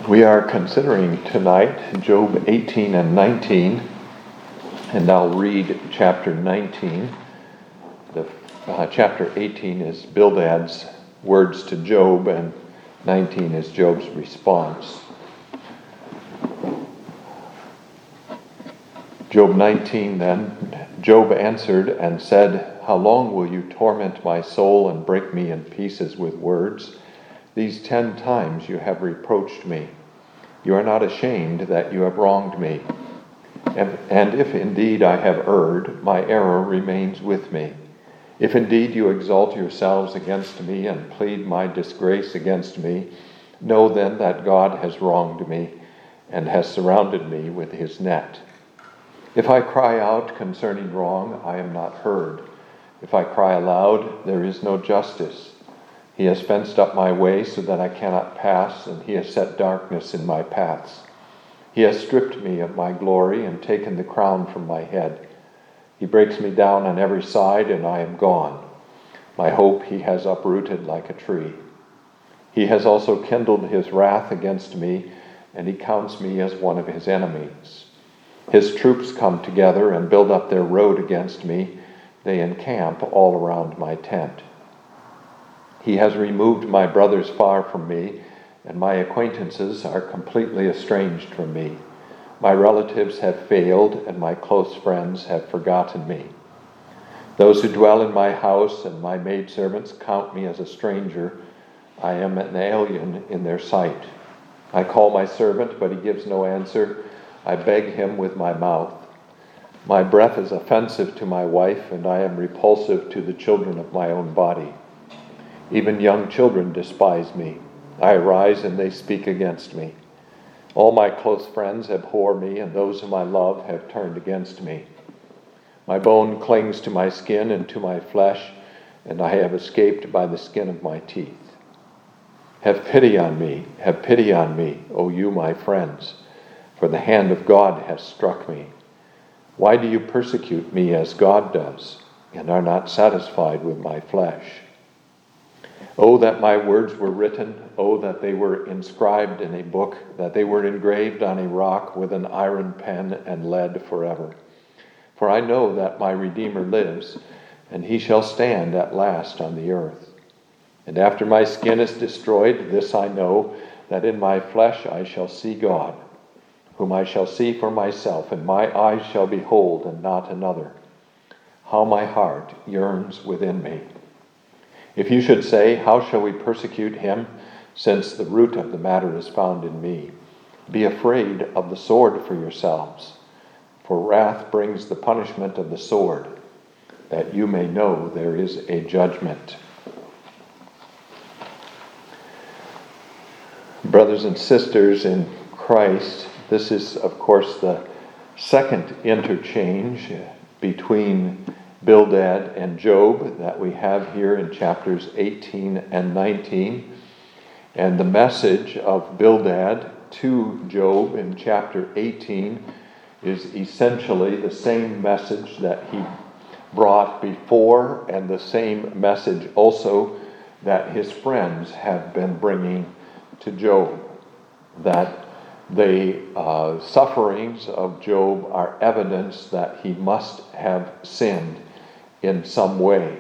We are considering tonight Job 18 and 19, and I'll read chapter 19. Chapter 18 is Bildad's words to Job, and 19 is Job's response. Job 19 then, Job answered and said, "How long will you torment my soul and break me in pieces with words? These 10 times you have reproached me. You are not ashamed that you have wronged me. And if indeed I have erred, my error remains with me. If indeed you exalt yourselves against me and plead my disgrace against me, know then that God has wronged me and has surrounded me with his net. If I cry out concerning wrong, I am not heard. If I cry aloud, there is no justice. He has fenced up my way so that I cannot pass, and he has set darkness in my paths. He has stripped me of my glory and taken the crown from my head. He breaks me down on every side, and I am gone. My hope he has uprooted like a tree. He has also kindled his wrath against me, and he counts me as one of his enemies. His troops come together and build up their road against me. They encamp all around my tent. He has removed my brothers far from me, and my acquaintances are completely estranged from me. My relatives have failed, and my close friends have forgotten me. Those who dwell in my house and my maidservants count me as a stranger. I am an alien in their sight. I call my servant, but he gives no answer. I beg him with my mouth. My breath is offensive to my wife, and I am repulsive to the children of my own body. Even young children despise me. I arise and they speak against me. All my close friends abhor me, and those whom I love have turned against me. My bone clings to my skin and to my flesh, and I have escaped by the skin of my teeth. Have pity on me, O you my friends, for the hand of God has struck me. Why do you persecute me as God does, and are not satisfied with my flesh? Oh, that my words were written. Oh, that they were inscribed in a book, that they were engraved on a rock with an iron pen and lead forever. For I know that my Redeemer lives, and he shall stand at last on the earth. And after my skin is destroyed, this I know, that in my flesh I shall see God, whom I shall see for myself, and my eyes shall behold, and not another. How my heart yearns within me. If you should say, how shall we persecute him, since the root of the matter is found in me? Be afraid of the sword for yourselves, for wrath brings the punishment of the sword, that you may know there is a judgment. Brothers and sisters in Christ, this is, of course, the second interchange between Bildad and Job that we have here in chapters 18 and 19. And the message of Bildad to Job in chapter 18 is essentially the same message that he brought before, and the same message also that his friends have been bringing to Job, that the sufferings of Job are evidence that he must have sinned in some way.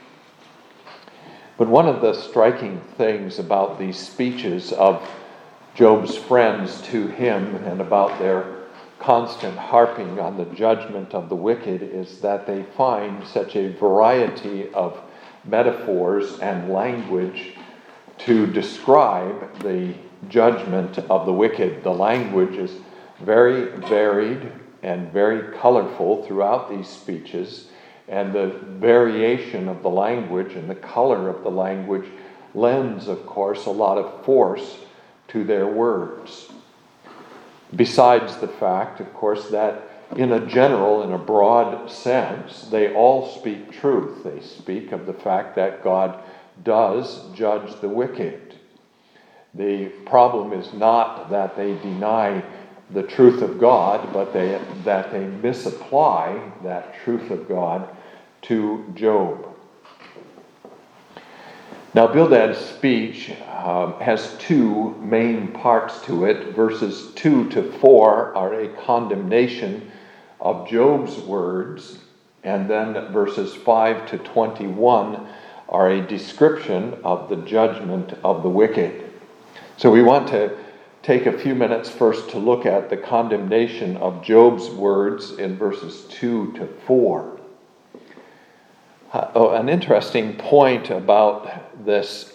But one of the striking things about these speeches of Job's friends to him, and about their constant harping on the judgment of the wicked, is that they find such a variety of metaphors and language to describe the judgment of the wicked. The language is very varied and very colorful throughout these speeches, and the variation of the language and the color of the language lends, of course, a lot of force to their words. Besides the fact, of course, that in a broad sense, they all speak truth. They speak of the fact that God does judge the wicked. The problem is not that they deny the truth of God, but that they misapply that truth of God to Job. Now, Bildad's speech has two main parts to it. Verses 2 to 4 are a condemnation of Job's words, and then verses 5 to 21 are a description of the judgment of the wicked. So we want to take a few minutes first to look at the condemnation of Job's words in verses 2 to 4. An interesting point about this,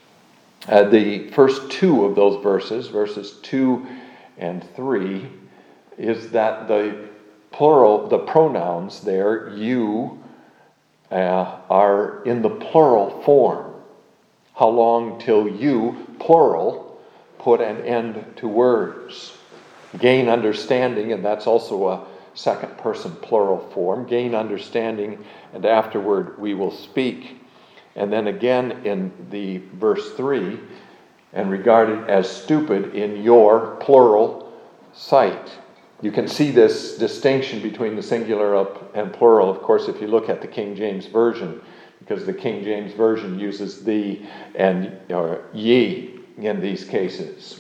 the first two of those verses 2 and 3, is that the pronouns there, you, are in the plural form. How long till you, plural, put an end to words? Gain understanding, and that's also a second person plural form. Gain understanding, and afterward we will speak. And then again in the verse 3, and regarded as stupid in your plural sight. You can see this distinction between the singular and plural, of course, if you look at the King James Version, because the King James Version uses thee and ye in these cases.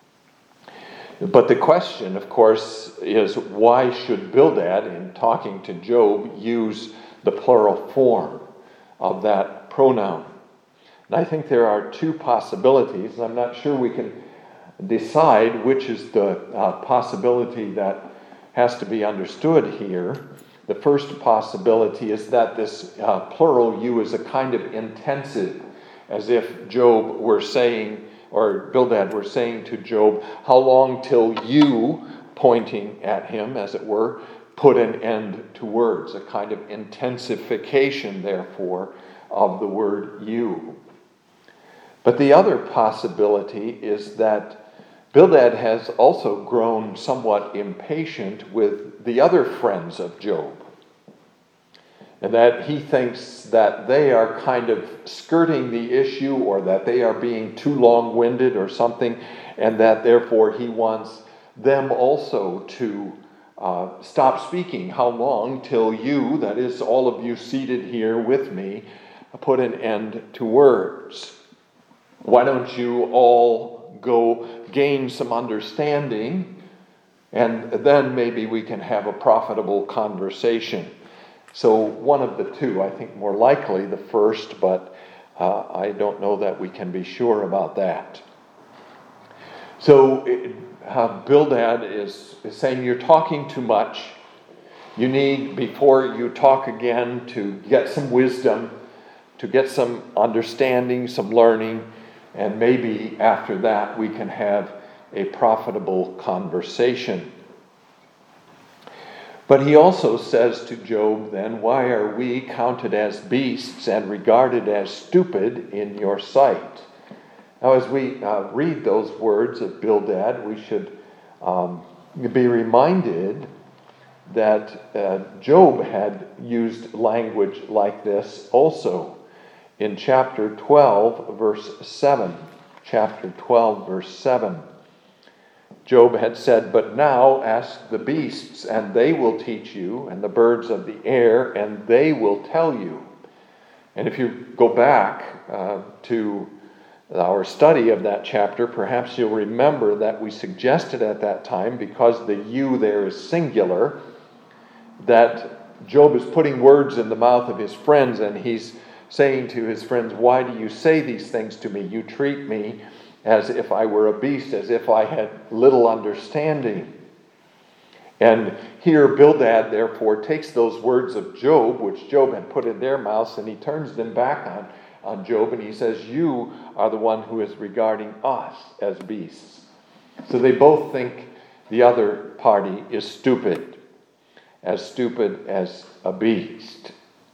But the question, of course, is why should Bildad, in talking to Job, use the plural form of that pronoun? And I think there are two possibilities. I'm not sure we can decide which is the possibility that has to be understood here. The first possibility is that this plural you is a kind of intensive, as if Job were saying, or Bildad were saying to Job, how long till you, pointing at him, as it were, put an end to words, a kind of intensification, therefore, of the word you. But the other possibility is that Bildad has also grown somewhat impatient with the other friends of Job, and that he thinks that they are kind of skirting the issue, or that they are being too long-winded or something, and that therefore he wants them also to stop speaking. How long till you, that is all of you seated here with me, put an end to words? Why don't you all go gain some understanding, and then maybe we can have a profitable conversation? So one of the two, I think more likely the first, but I don't know that we can be sure about that. So Bildad is saying you're talking too much. You need, before you talk again, to get some wisdom, to get some understanding, some learning, and maybe after that we can have a profitable conversation. But he also says to Job then, why are we counted as beasts and regarded as stupid in your sight? Now, as we read those words of Bildad, we should be reminded that Job had used language like this also in chapter 12, verse 7. Chapter 12, verse 7. Job had said, but now ask the beasts, and they will teach you, and the birds of the air, and they will tell you. And if you go back to our study of that chapter, perhaps you'll remember that we suggested at that time, because the you there is singular, that Job is putting words in the mouth of his friends, and he's saying to his friends, why do you say these things to me? You treat me as if I were a beast, as if I had little understanding. And here Bildad, therefore, takes those words of Job, which Job had put in their mouths, and he turns them back on Job, and he says, you are the one who is regarding us as beasts. So they both think the other party is stupid as a beast.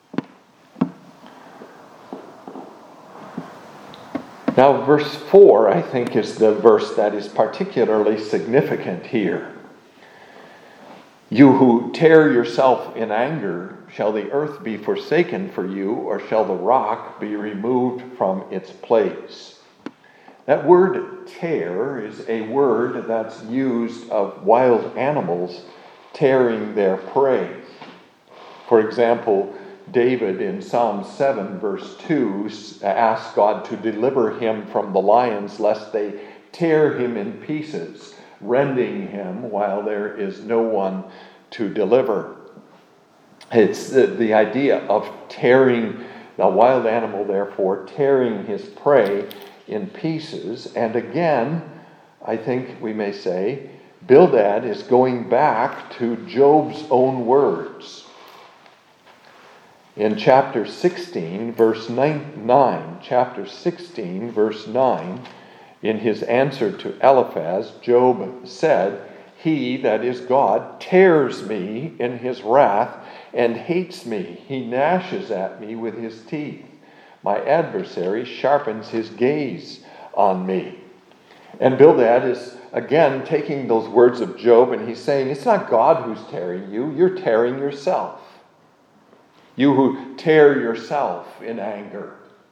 Now, verse 4, I think, is the verse that is particularly significant here. You who tear yourself in anger, shall the earth be forsaken for you, or shall the rock be removed from its place? That word tear is a word that's used of wild animals tearing their prey. For example, David in Psalm 7 verse 2 asks God to deliver him from the lions lest they tear him in pieces, rending him while there is no one to deliver. It's the idea of tearing a wild animal, therefore, tearing his prey in pieces. And again, I think we may say, Bildad is going back to Job's own words. In chapter 16, verse 9, chapter 16, verse 9, in his answer to Eliphaz, Job said, "He, that is God, tears me in his wrath and hates me. He gnashes at me with his teeth. My adversary sharpens his gaze on me." And Bildad is again taking those words of Job and he's saying, it's not God who's tearing you, you're tearing yourself. You who tear yourself in anger.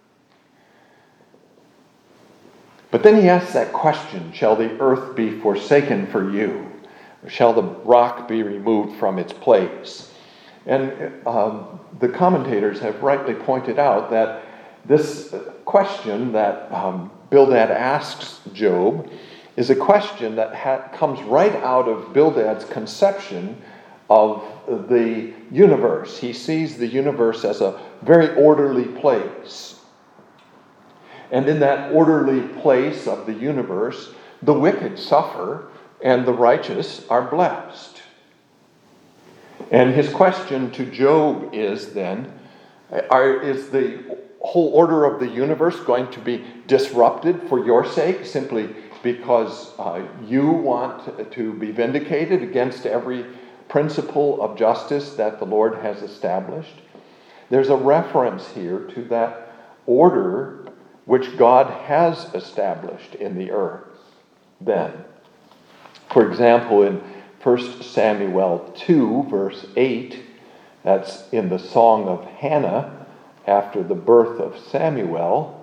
But then he asks that question, shall the earth be forsaken for you? Or shall the rock be removed from its place? And the commentators have rightly pointed out that this question that Bildad asks Job is a question that comes right out of Bildad's conception of the universe. He sees the universe as a very orderly place. And in that orderly place of the universe, the wicked suffer and the righteous are blessed. And his question to Job is then, is the whole order of the universe going to be disrupted for your sake, simply because you want to be vindicated against every principle of justice that the Lord has established? There's a reference here to that order which God has established in the earth then. For example, in 1 Samuel 2, verse 8, that's in the Song of Hannah, after the birth of Samuel,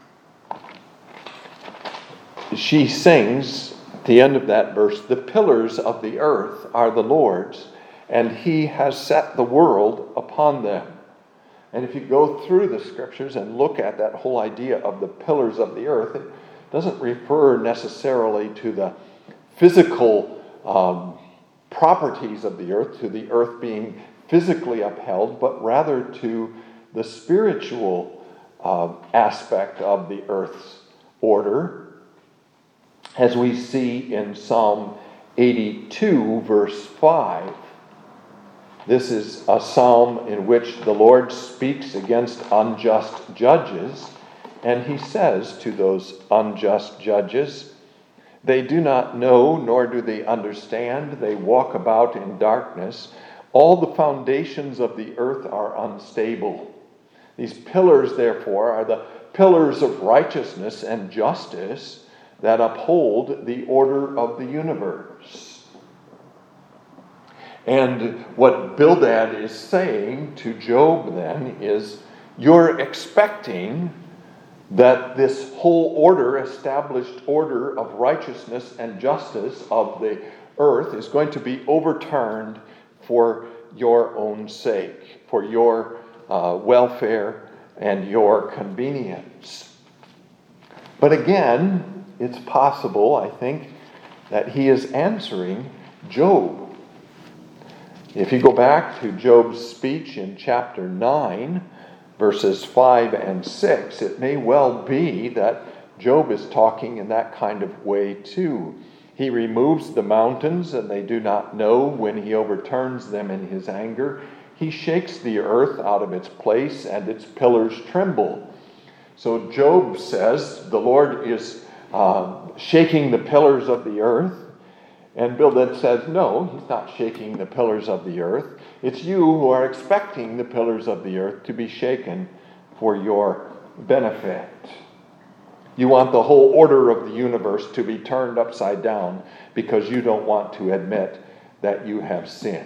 she sings, at the end of that verse, "The pillars of the earth are the Lord's, and he has set the world upon them." And if you go through the scriptures and look at that whole idea of the pillars of the earth, it doesn't refer necessarily to the physical properties of the earth, to the earth being physically upheld, but rather to the spiritual aspect of the earth's order, as we see in Psalm 82, verse 5. This is a psalm in which the Lord speaks against unjust judges, and he says to those unjust judges, "They do not know, nor do they understand. They walk about in darkness. All the foundations of the earth are unstable." These pillars, therefore, are the pillars of righteousness and justice that uphold the order of the universe. And what Bildad is saying to Job then is, you're expecting that this whole order, established order of righteousness and justice of the earth is going to be overturned for your own sake, for your welfare and your convenience. But again, it's possible, I think, that he is answering Job. If you go back to Job's speech in chapter 9, verses 5 and 6, it may well be that Job is talking in that kind of way too. He removes the mountains, and they do not know when he overturns them in his anger. He shakes the earth out of its place, and its pillars tremble. So Job says the Lord is shaking the pillars of the earth. And Bildad says, no, he's not shaking the pillars of the earth. It's you who are expecting the pillars of the earth to be shaken for your benefit. You want the whole order of the universe to be turned upside down because you don't want to admit that you have sinned.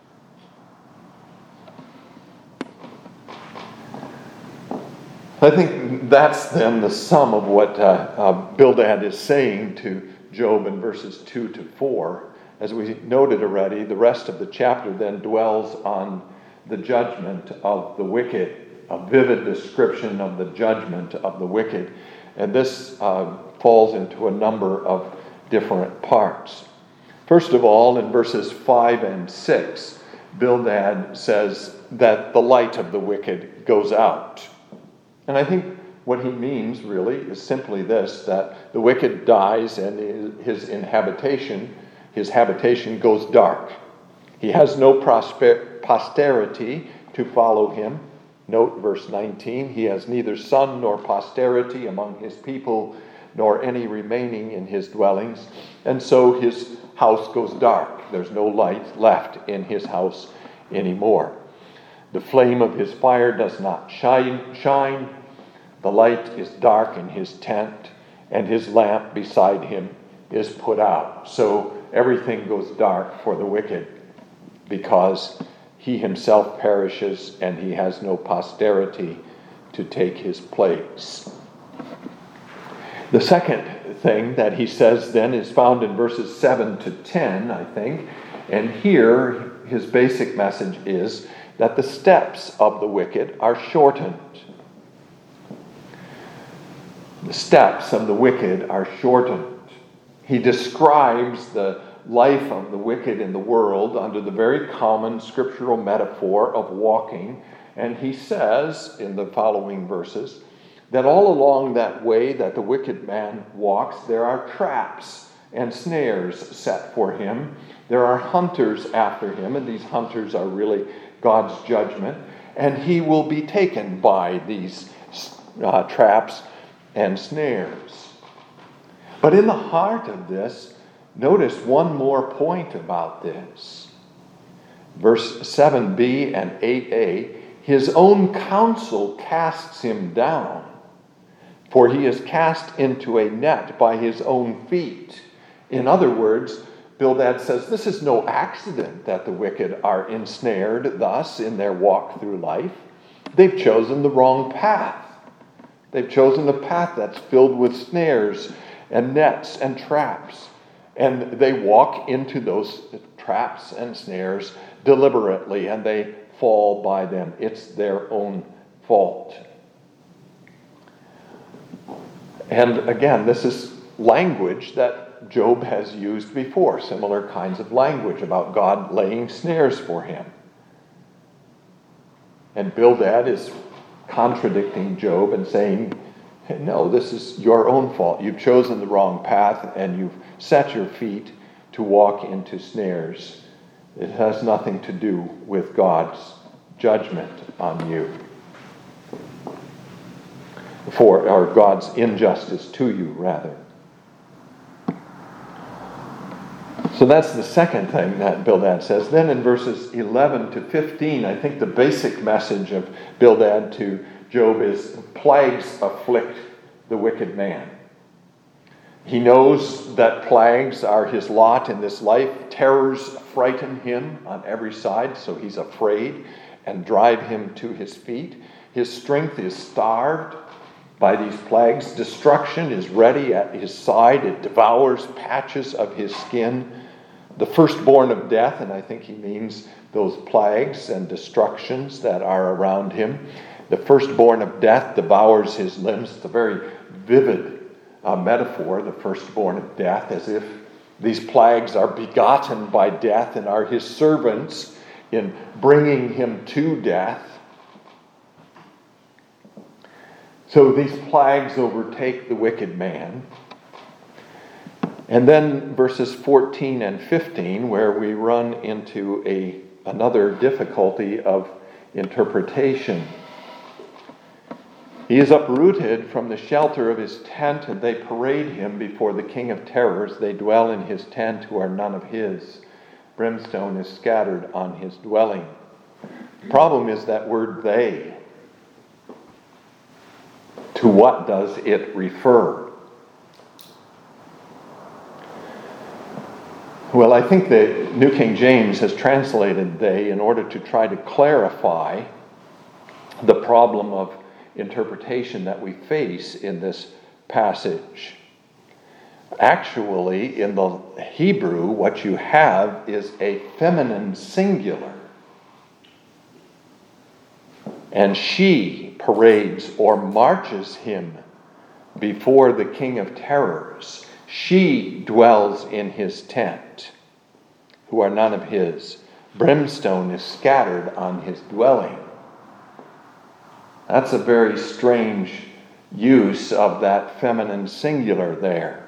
I think that's then the sum of what Bildad is saying to Job in verses 2 to 4. As we noted already, the rest of the chapter then dwells on the judgment of the wicked, a vivid description of the judgment of the wicked. And this falls into a number of different parts. First of all, in verses 5 and 6, Bildad says that the light of the wicked goes out. And I think what he means really is simply this, that the wicked dies and his habitation goes dark. He has no posterity to follow him. Note verse 19, he has neither son nor posterity among his people, nor any remaining in his dwellings. And so his house goes dark. There's no light left in his house anymore. The flame of his fire does not shine. The light is dark in his tent, and his lamp beside him is put out. So everything goes dark for the wicked, because he himself perishes and he has no posterity to take his place. The second thing that he says then is found in verses 7 to 10, I think. And here his basic message is that the steps of the wicked are shortened. The steps of the wicked are shortened. He describes the life of the wicked in the world under the very common scriptural metaphor of walking. And he says in the following verses that all along that way that the wicked man walks, there are traps and snares set for him. There are hunters after him, and these hunters are really God's judgment. And he will be taken by these traps and snares. But in the heart of this, notice one more point about this. Verse 7b and 8a, his own counsel casts him down, for he is cast into a net by his own feet. In other words, Bildad says this is no accident that the wicked are ensnared thus in their walk through life. They've chosen the wrong path. They've chosen a path that's filled with snares and nets and traps. And they walk into those traps and snares deliberately, and they fall by them. It's their own fault. And again, this is language that Job has used before, similar kinds of language about God laying snares for him. And Bildad is contradicting Job and saying, no, this is your own fault. You've chosen the wrong path and you've set your feet to walk into snares. It has nothing to do with God's judgment on you, or God's injustice to you, rather. So that's the second thing that Bildad says. Then in verses 11 to 15, I think the basic message of Bildad to Job is plagues afflict the wicked man. He knows that plagues are his lot in this life. Terrors frighten him on every side, so he's afraid and drive him to his feet. His strength is starved by these plagues. Destruction is ready at his side. It devours patches of his skin. The firstborn of death, and I think he means those plagues and destructions that are around him. The firstborn of death devours his limbs. It's a very vivid metaphor, the firstborn of death, as if these plagues are begotten by death and are his servants in bringing him to death. So these plagues overtake the wicked man. And then verses 14 and 15, where we run into another difficulty of interpretation. He is uprooted from the shelter of his tent, and they parade him before the king of terrors. They dwell in his tent who are none of his. Brimstone is scattered on his dwelling. The problem is that word they. To what does it refer? Well, I think the New King James has translated they in order to try to clarify the problem of interpretation that we face in this passage. Actually, in the Hebrew, what you have is a feminine singular. And she parades or marches him before the King of Terrors. She dwells in his tent, who are none of his. Brimstone is scattered on his dwelling. That's a very strange use of that feminine singular there.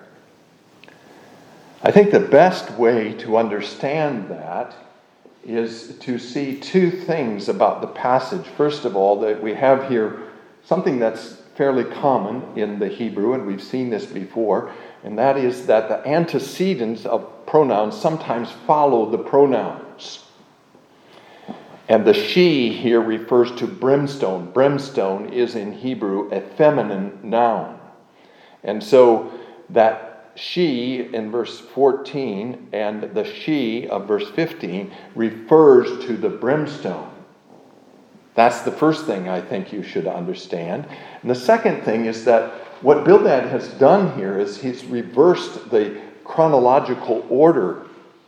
I think the best way to understand that is to see two things about the passage. First of all, that we have here something that's fairly common in the Hebrew, and we've seen this before, and that is that the antecedents of pronouns sometimes follow the pronouns. And the she here refers to brimstone. Brimstone is in Hebrew a feminine noun. And so that she in verse 14 and the she of verse 15 refers to the brimstone. That's the first thing I think you should understand. And the second thing is that what Bildad has done here is he's reversed the chronological order.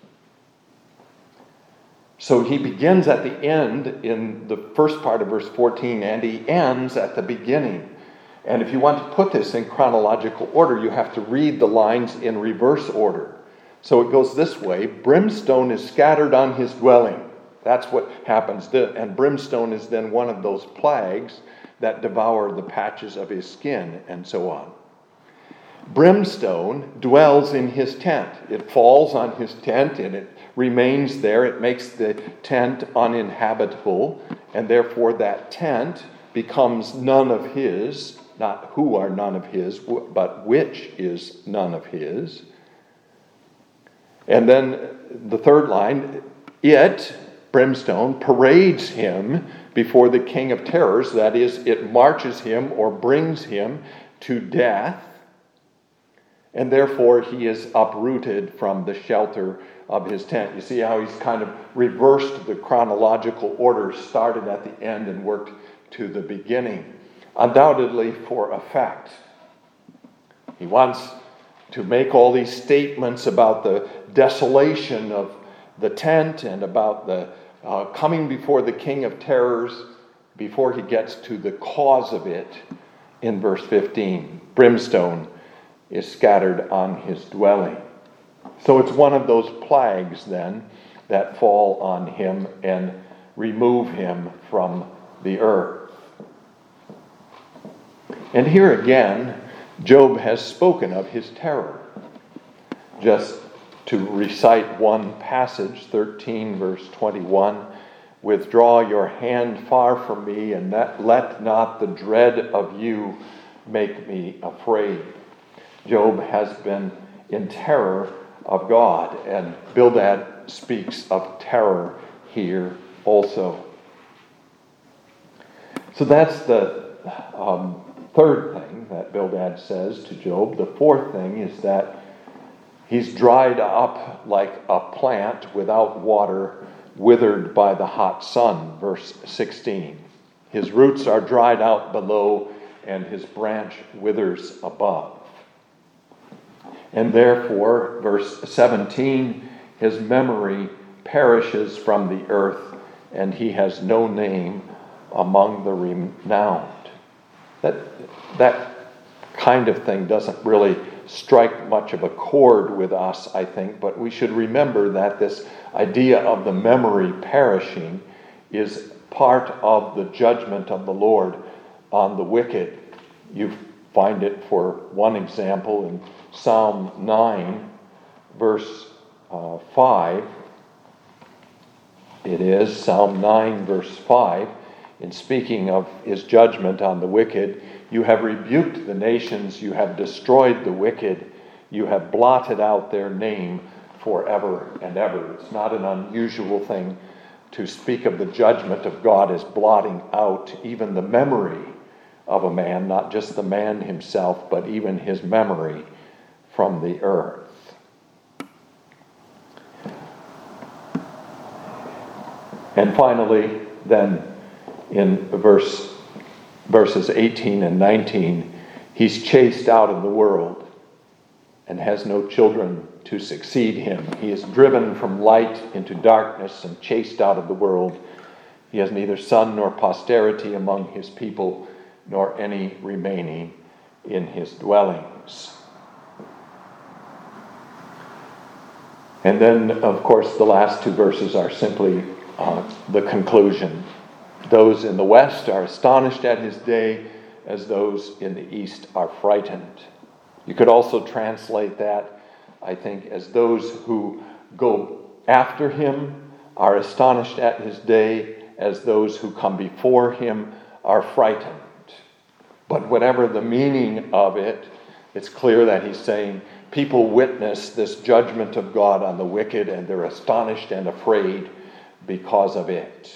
So he begins at the end in the first part of verse 14 and he ends at the beginning. And if you want to put this in chronological order, you have to read the lines in reverse order. So it goes this way: brimstone is scattered on his dwelling. That's what happens. And brimstone is then one of those plagues that devour the patches of his skin and so on. Brimstone dwells in his tent. It falls on his tent and it remains there. It makes the tent uninhabitable, and therefore that tent becomes none of his. Not who are none of his, but which is none of his. And then the third line, it, brimstone, parades him before the King of Terrors. That is, it marches him or brings him to death. And therefore he is uprooted from the shelter of his tent. You see how he's kind of reversed the chronological order, started at the end and worked to the beginning. Undoubtedly for effect. He wants to make all these statements about the desolation of the tent and about the coming before the King of Terrors before he gets to the cause of it in verse 15. Brimstone is scattered on his dwelling. So it's one of those plagues then that fall on him and remove him from the earth. And here again, Job has spoken of his terror. Just to recite one passage, 13 verse 21, withdraw your hand far from me, and let not the dread of you make me afraid. Job has been in terror of God, and Bildad speaks of terror here also. So that's the third thing that Bildad says to Job. The fourth thing is that he's dried up like a plant without water, withered by the hot sun, verse 16. His roots are dried out below, and his branch withers above. And therefore, verse 17, his memory perishes from the earth, and he has no name among the renowned. That kind of thing doesn't really strike much of a chord with us, I think, but we should remember that this idea of the memory perishing is part of the judgment of the Lord on the wicked. You find it, for one example, in Psalm 9, verse 5. It is Psalm 9, verse 5. In speaking of his judgment on the wicked, you have rebuked the nations, you have destroyed the wicked, you have blotted out their name forever and ever. It's not an unusual thing to speak of the judgment of God as blotting out even the memory of a man, not just the man himself, but even his memory from the earth. And finally, then, in verses 18 and 19, he's chased out of the world and has no children to succeed him. He is driven from light into darkness and chased out of the world He has neither son nor posterity among his people, nor any remaining in his dwellings. And then, of course, the last two verses are simply the conclusion. Those in the west are astonished at his day, as those in the east are frightened. You could also translate that, I think, as those who go after him are astonished at his day, as those who come before him are frightened. But whatever the meaning of it, it's clear that he's saying people witness this judgment of God on the wicked, and they're astonished and afraid because of it.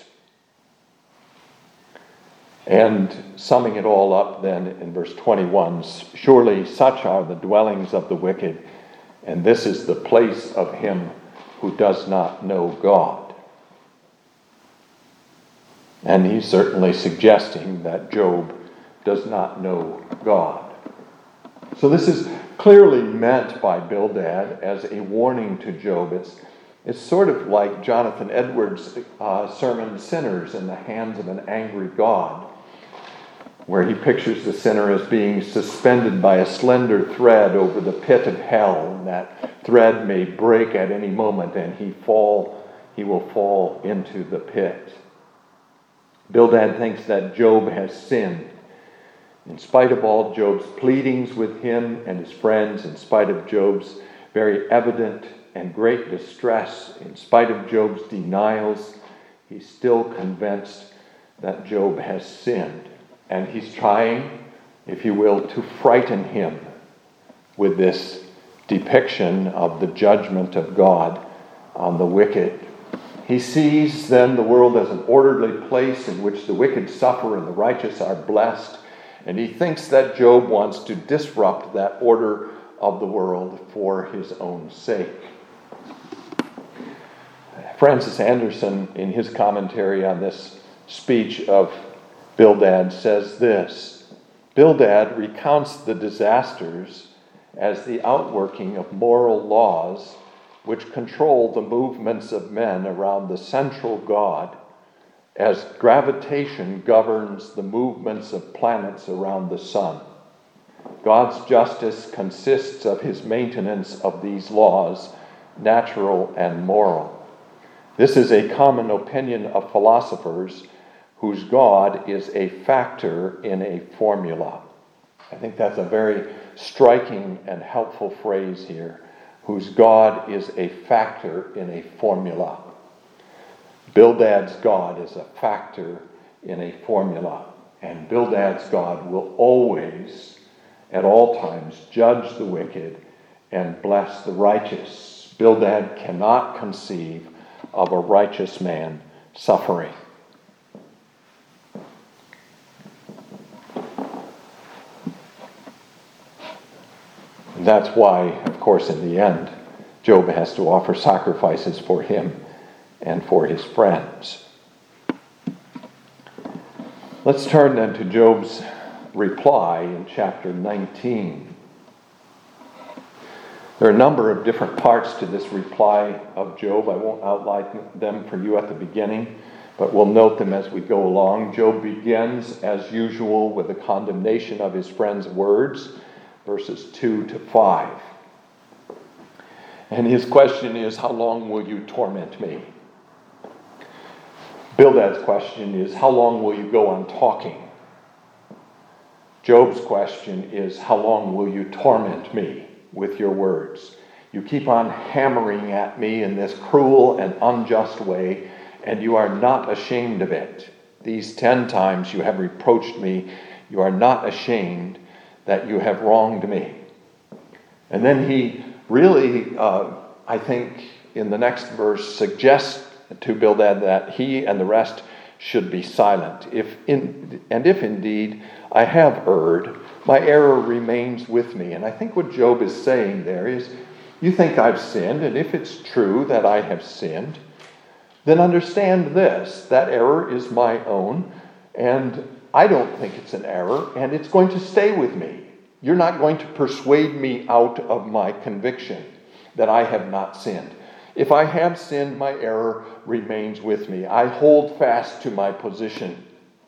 And summing it all up then in verse 21, surely such are the dwellings of the wicked, and this is the place of him who does not know God. And he's certainly suggesting that Job does not know God. So this is clearly meant by Bildad as a warning to Job. It's sort of like Jonathan Edwards' sermon, Sinners in the Hands of an Angry God, where he pictures the sinner as being suspended by a slender thread over the pit of hell, and that thread may break at any moment, and he will fall into the pit. Bildad thinks that Job has sinned. In spite of all Job's pleadings with him and his friends, in spite of Job's very evident and great distress, in spite of Job's denials, he's still convinced that Job has sinned. And he's trying, if you will, to frighten him with this depiction of the judgment of God on the wicked. He sees then the world as an orderly place in which the wicked suffer and the righteous are blessed. And he thinks that Job wants to disrupt that order of the world for his own sake. Francis Anderson, in his commentary on this speech of Bildad, says this: Bildad recounts the disasters as the outworking of moral laws which control the movements of men around the central God, as gravitation governs the movements of planets around the sun. God's justice consists of his maintenance of these laws, natural and moral. This is a common opinion of philosophers whose God is a factor in a formula. I think that's a very striking and helpful phrase here. Whose God is a factor in a formula. Bildad's God is a factor in a formula. And Bildad's God will always, at all times, judge the wicked and bless the righteous. Bildad cannot conceive of a righteous man suffering. And that's why, of course, in the end, Job has to offer sacrifices for him and for his friends. Let's turn then to Job's reply in chapter 19. There are a number of different parts to this reply of Job. I won't outline them for you at the beginning, but we'll note them as we go along. Job begins, as usual, with a condemnation of his friend's words, verses 2 to 5. And his question is, how long will you torment me? Bildad's question is, how long will you go on talking? Job's question is, how long will you torment me with your words? You keep on hammering at me in this cruel and unjust way, and you are not ashamed of it. These 10 times you have reproached me. You are not ashamed that you have wronged me. And then he really, I think, in the next verse, suggests to Bildad that he and the rest should be silent. If indeed I have erred, my error remains with me. And I think what Job is saying there is, you think I've sinned, and if it's true that I have sinned, then understand this, that error is my own, and I don't think it's an error, and it's going to stay with me. You're not going to persuade me out of my conviction that I have not sinned. If I have sinned, my error remains with me. I hold fast to my position.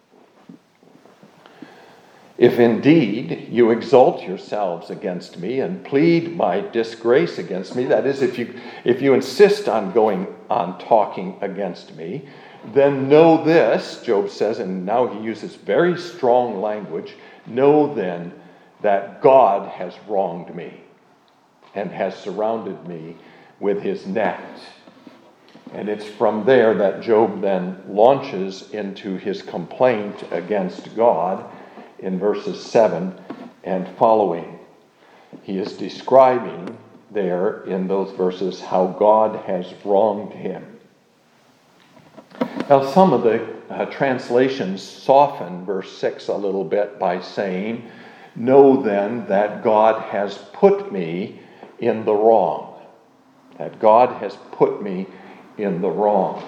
If indeed you exalt yourselves against me and plead my disgrace against me, that is, if you insist on going on talking against me, then know this, Job says, and now he uses very strong language, know then that God has wronged me and has surrounded me with his net. And it's from there that Job then launches into his complaint against God in verses 7 and following. He is describing there in those verses how God has wronged him. Now, some of the translations soften verse 6 a little bit by saying, know then that God has put me in the wrong. That God has put me in the wrong.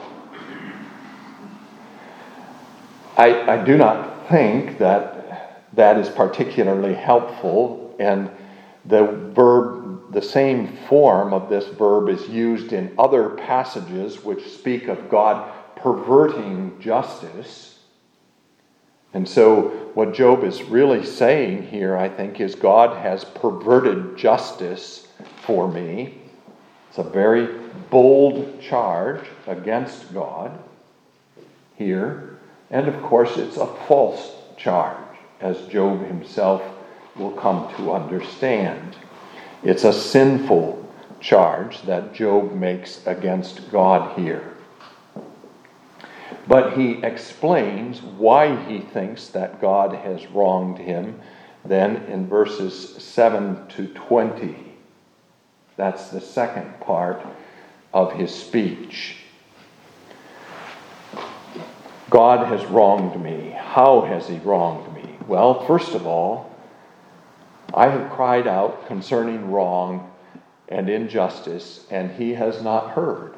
I do not think that is particularly helpful, and the same form of this verb is used in other passages which speak of God perverting justice. And so what Job is really saying here, I think, is God has perverted justice for me. It's a very bold charge against God here. And of course, it's a false charge, as Job himself will come to understand. It's a sinful charge that Job makes against God here. But he explains why he thinks that God has wronged him then in verses 7 to 20. That's the second part of his speech. God has wronged me. How has he wronged me? Well, first of all, I have cried out concerning wrong and injustice, and he has not heard.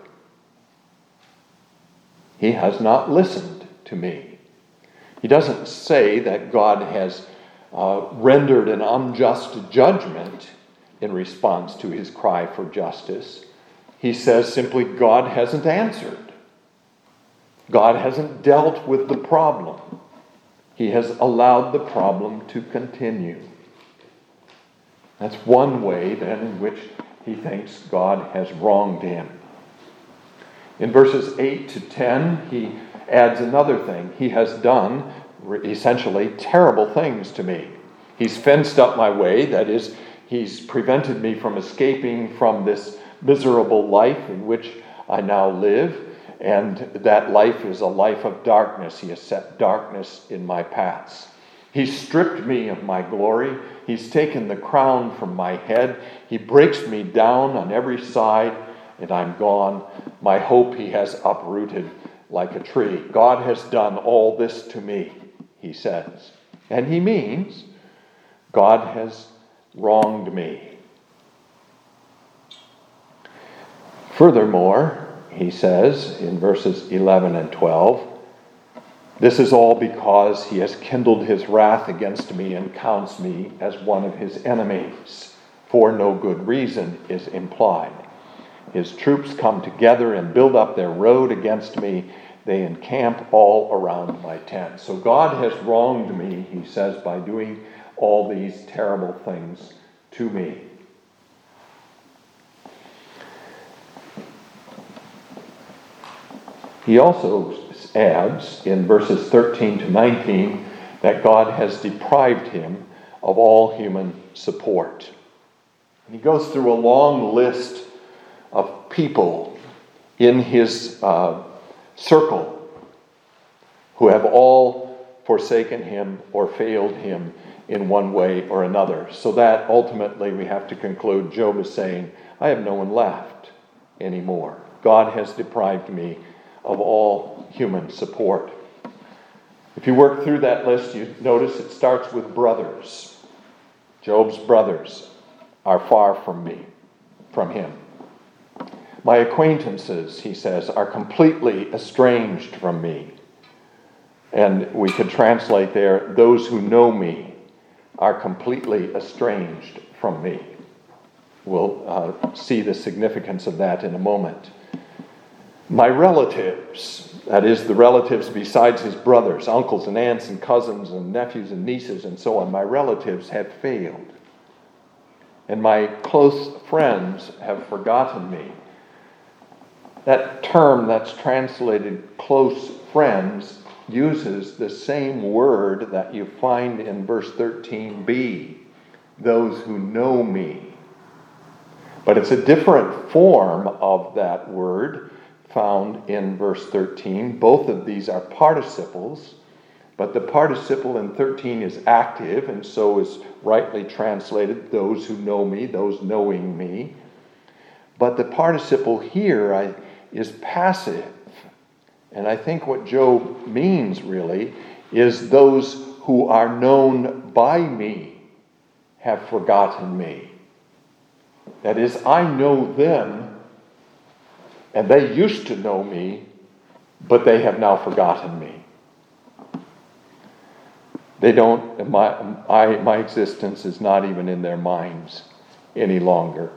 He has not listened to me. He doesn't say that God has rendered an unjust judgment in response to his cry for justice. He says simply, God hasn't answered. God hasn't dealt with the problem. He has allowed the problem to continue. That's one way, then, in which he thinks God has wronged him. In verses 8 to 10, he adds another thing. He has done, essentially, terrible things to me. He's fenced up my way. That is, he's prevented me from escaping from this miserable life in which I now live. And that life is a life of darkness. He has set darkness in my paths. He's stripped me of my glory. He's taken the crown from my head. He breaks me down on every side, and I'm gone. My hope he has uprooted like a tree. God has done all this to me, he says. And he means God has wronged me. Furthermore, he says in verses 11 and 12, this is all because he has kindled his wrath against me and counts me as one of his enemies. For no good reason is implied. His troops come together and build up their road against me. They encamp all around my tent. So God has wronged me, he says, by doing all these terrible things to me. He also adds in verses 13 to 19 that God has deprived him of all human support. And he goes through a long list of people in his circle who have all forsaken him or failed him in one way or another. So that ultimately we have to conclude Job is saying, I have no one left anymore. God has deprived me of all human support. If you work through that list, you notice it starts with brothers. Job's brothers are far from him. My acquaintances, he says, are completely estranged from me. And we could translate there, those who know me are completely estranged from me. We'll see the significance of that in a moment. My relatives, that is, the relatives besides his brothers, uncles and aunts and cousins and nephews and nieces and so on, my relatives have failed. And my close friends have forgotten me. That term that's translated close friends uses the same word that you find in verse 13b, those who know me. But it's a different form of that word found in verse 13. Both of these are participles, but the participle in 13 is active, and so is rightly translated, those who know me, those knowing me. But the participle here is passive. And I think what Job means really is those who are known by me have forgotten me. That is, I know them, and they used to know me, but they have now forgotten me. They don't, my existence is not even in their minds any longer.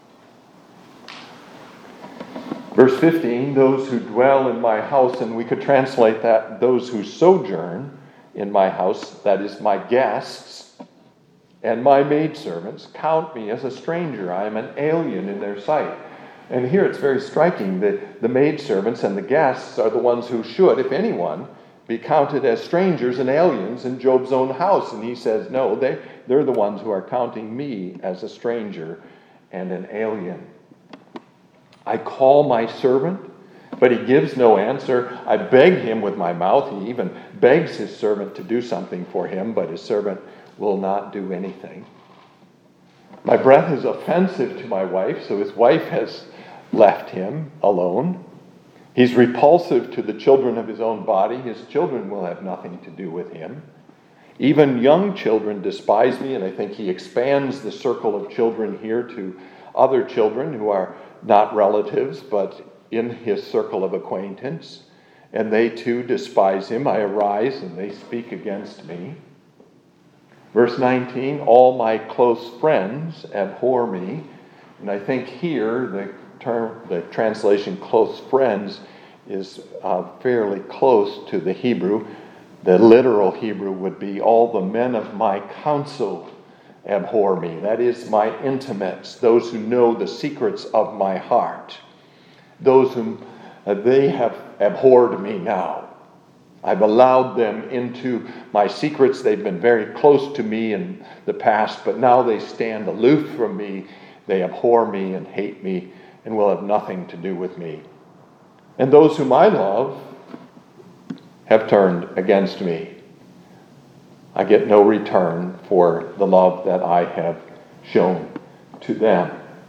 Verse 15, those who dwell in my house, and we could translate that, those who sojourn in my house, that is, my guests, and my maidservants, count me as a stranger. I am an alien in their sight. And here it's very striking that the maidservants and the guests are the ones who should, if anyone, be counted as strangers and aliens in Job's own house. And he says, no, they're the ones who are counting me as a stranger and an alien. I call my servant, but he gives no answer. I beg him with my mouth. He even begs his servant to do something for him, but his servant will not do anything. My breath is offensive to my wife, so his wife has left him alone. He's repulsive to the children of his own body. His children will have nothing to do with him. Even young children despise me, and I think he expands the circle of children here to other children who are not relatives, but in his circle of acquaintance. And they too despise him. I arise and they speak against me. Verse 19, all my close friends abhor me. And I think here the translation close friends is fairly close to the Hebrew. The literal Hebrew would be all the men of my counsel abhor me. That is, my intimates, those who know the secrets of my heart. Those whom they have abhorred me now. I've allowed them into my secrets. They've been very close to me in the past, but now they stand aloof from me. They abhor me and hate me and will have nothing to do with me. And those whom I love have turned against me. I get no return for the love that I have shown to them.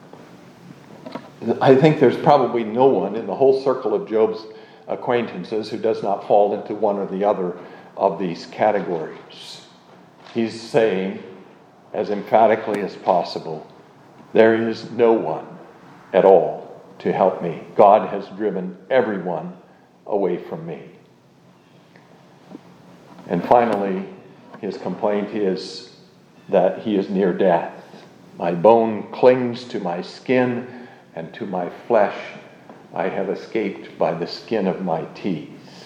I think there's probably no one in the whole circle of Job's acquaintances who does not fall into one or the other of these categories. He's saying, as emphatically as possible, there is no one at all to help me. God has driven everyone away from me. And finally, his complaint is that he is near death. My bone clings to my skin, and to my flesh I have escaped by the skin of my teeth.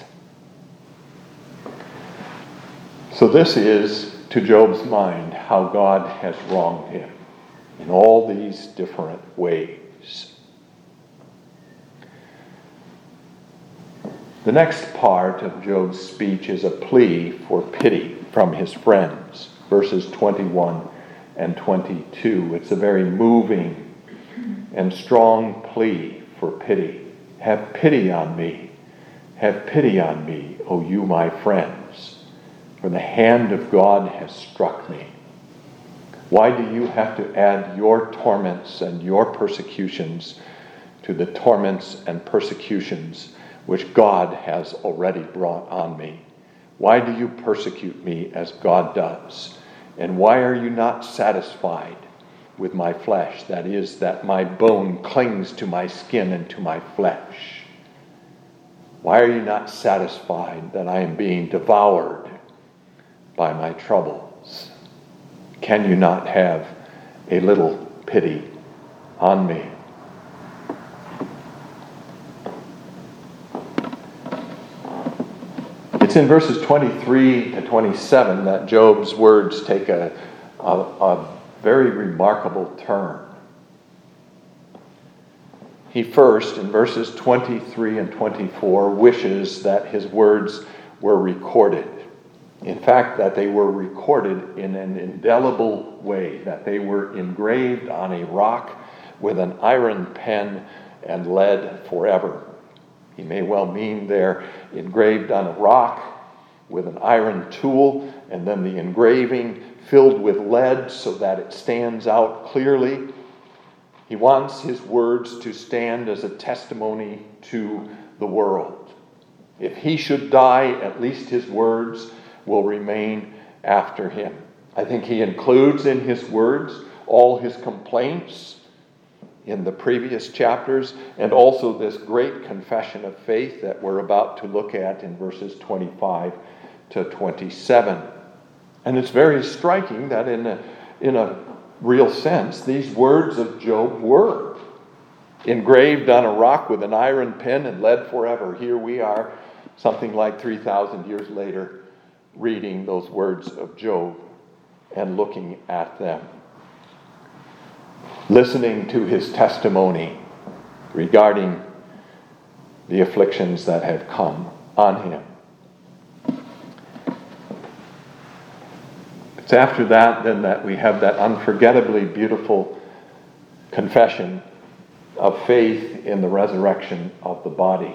So this is, to Job's mind, how God has wronged him in all these different ways. The next part of Job's speech is a plea for pity from his friends, verses 21 and 22. It's a very moving and strong plea for pity. Have pity on me. Have pity on me, O you my friends, for the hand of God has struck me. Why do you have to add your torments and your persecutions to the torments and persecutions which God has already brought on me? Why do you persecute me as God does? And why are you not satisfied with my flesh? That is, that my bone clings to my skin and to my flesh. Why are you not satisfied that I am being devoured by my troubles? Can you not have a little pity on me? It's in verses 23 to 27 that Job's words take a very remarkable turn. He first, in verses 23 and 24, wishes that his words were recorded. In fact, that they were recorded in an indelible way, that they were engraved on a rock with an iron pen and lead forever. He may well mean they're engraved on a rock with an iron tool, and then the engraving filled with lead so that it stands out clearly. He wants his words to stand as a testimony to the world. If he should die, at least his words will remain after him. I think he includes in his words all his complaints in the previous chapters, and also this great confession of faith that we're about to look at in verses 25 to 27. And it's very striking that in a real sense, these words of Job were engraved on a rock with an iron pen and lead forever. Here we are, something like 3,000 years later, reading those words of Job and looking at them, listening to his testimony regarding the afflictions that have come on him. It's after that then that we have that unforgettably beautiful confession of faith in the resurrection of the body.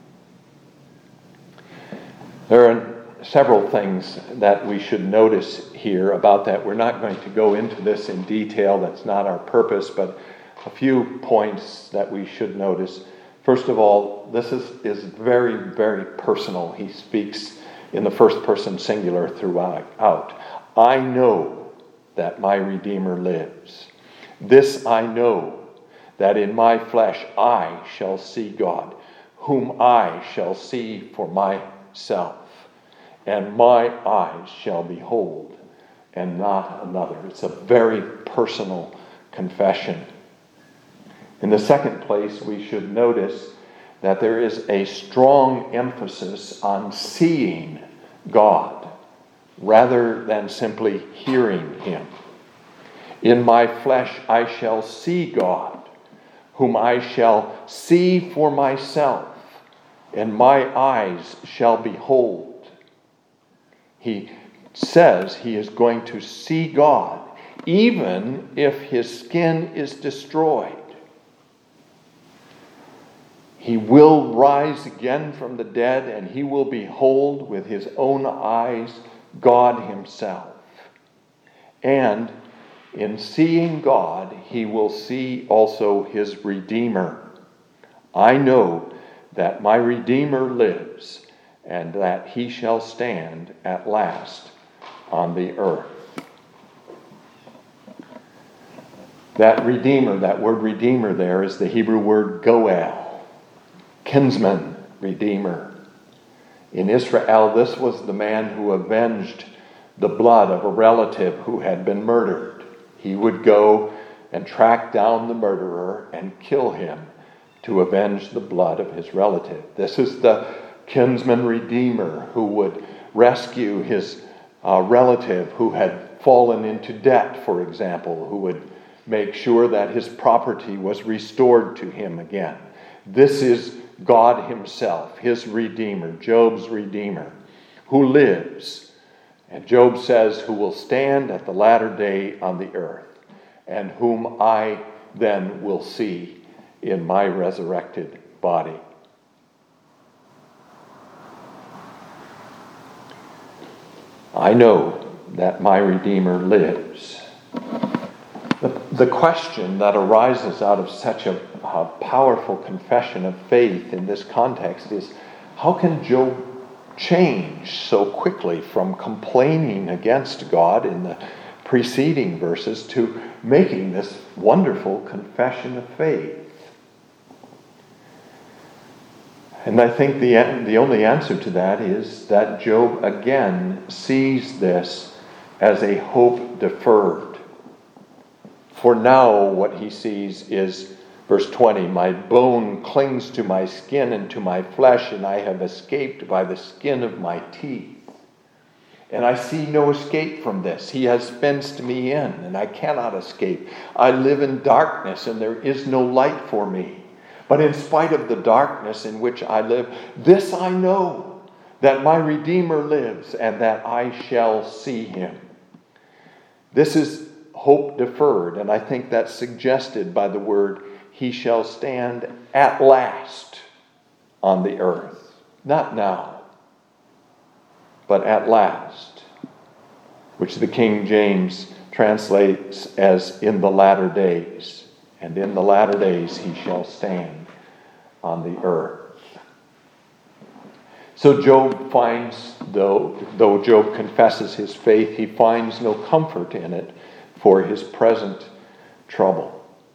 There are several things that we should notice here about that. We're not going to go into this in detail. That's not our purpose, but a few points that we should notice. First of all, this is very, very personal. He speaks in the first person singular throughout. I know that my Redeemer lives. This I know, that in my flesh I shall see God, whom I shall see for myself. And my eyes shall behold, and not another. It's a very personal confession. In the second place, we should notice that there is a strong emphasis on seeing God rather than simply hearing him. In my flesh I shall see God, whom I shall see for myself, and my eyes shall behold. He says he is going to see God, even if his skin is destroyed. He will rise again from the dead, and he will behold with his own eyes God himself. And in seeing God, he will see also his Redeemer. I know that my Redeemer lives, and that he shall stand at last on the earth. That Redeemer, that word Redeemer there is the Hebrew word Goel, kinsman, Redeemer. In Israel, this was the man who avenged the blood of a relative who had been murdered. He would go and track down the murderer and kill him to avenge the blood of his relative. This is the kinsman redeemer who would rescue his relative who had fallen into debt, for example, who would make sure that his property was restored to him again. This is God himself, his Redeemer, Job's Redeemer, who lives. And Job says, who will stand at the latter day on the earth, and whom I then will see in my resurrected body. I know that my Redeemer lives. The question that arises out of such a powerful confession of faith in this context is, how can Job change so quickly from complaining against God in the preceding verses to making this wonderful confession of faith? And I think the only answer to that is that Job again sees this as a hope deferred. For now, what he sees is Verse 20, my bone clings to my skin and to my flesh, and I have escaped by the skin of my teeth. And I see no escape from this. He has fenced me in, and I cannot escape. I live in darkness, and there is no light for me. But in spite of the darkness in which I live, this I know, that my Redeemer lives, and that I shall see him. This is hope deferred, and I think that's suggested by the word, he shall stand at last on the earth. Not now, but at last, which the King James translates as in the latter days. And in the latter days he shall stand on the earth. So Job finds, though Job confesses his faith, he finds no comfort in it for his present trouble.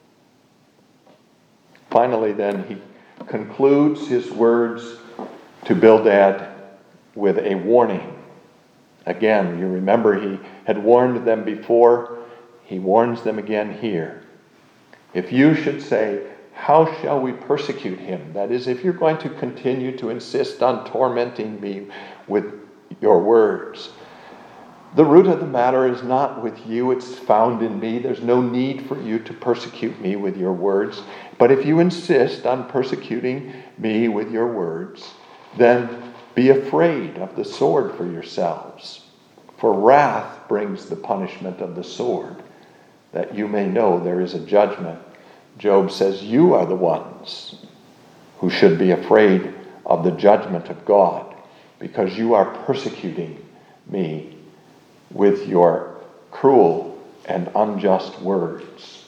Finally, then, he concludes his words to Bildad with a warning. Again, you remember he had warned them before. He warns them again here. If you should say, how shall we persecute him? That is, if you're going to continue to insist on tormenting me with your words, the root of the matter is not with you, it's found in me. There's no need for you to persecute me with your words. But if you insist on persecuting me with your words, then be afraid of the sword for yourselves. For wrath brings the punishment of the sword, that you may know there is a judgment. Job says, you are the ones who should be afraid of the judgment of God, because you are persecuting me with your cruel and unjust words.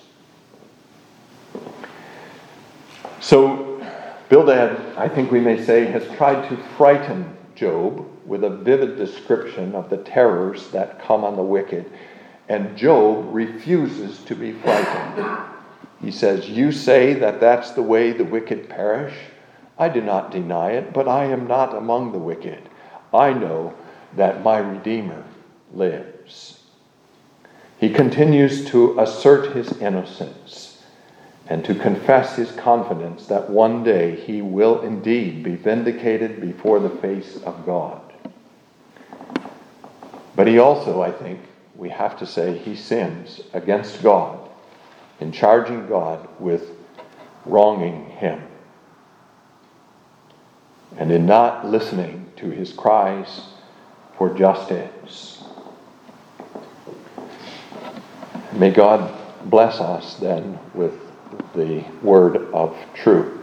So Bildad, I think we may say, has tried to frighten Job with a vivid description of the terrors that come on the wicked, and Job refuses to be frightened. He says, you say that that's the way the wicked perish. I do not deny it, but I am not among the wicked. I know that my Redeemer lives. He continues to assert his innocence and to confess his confidence that one day he will indeed be vindicated before the face of God. But he also, I think, we have to say, he sins against God in charging God with wronging him and in not listening to his cries for justice. May God bless us then with the word of truth.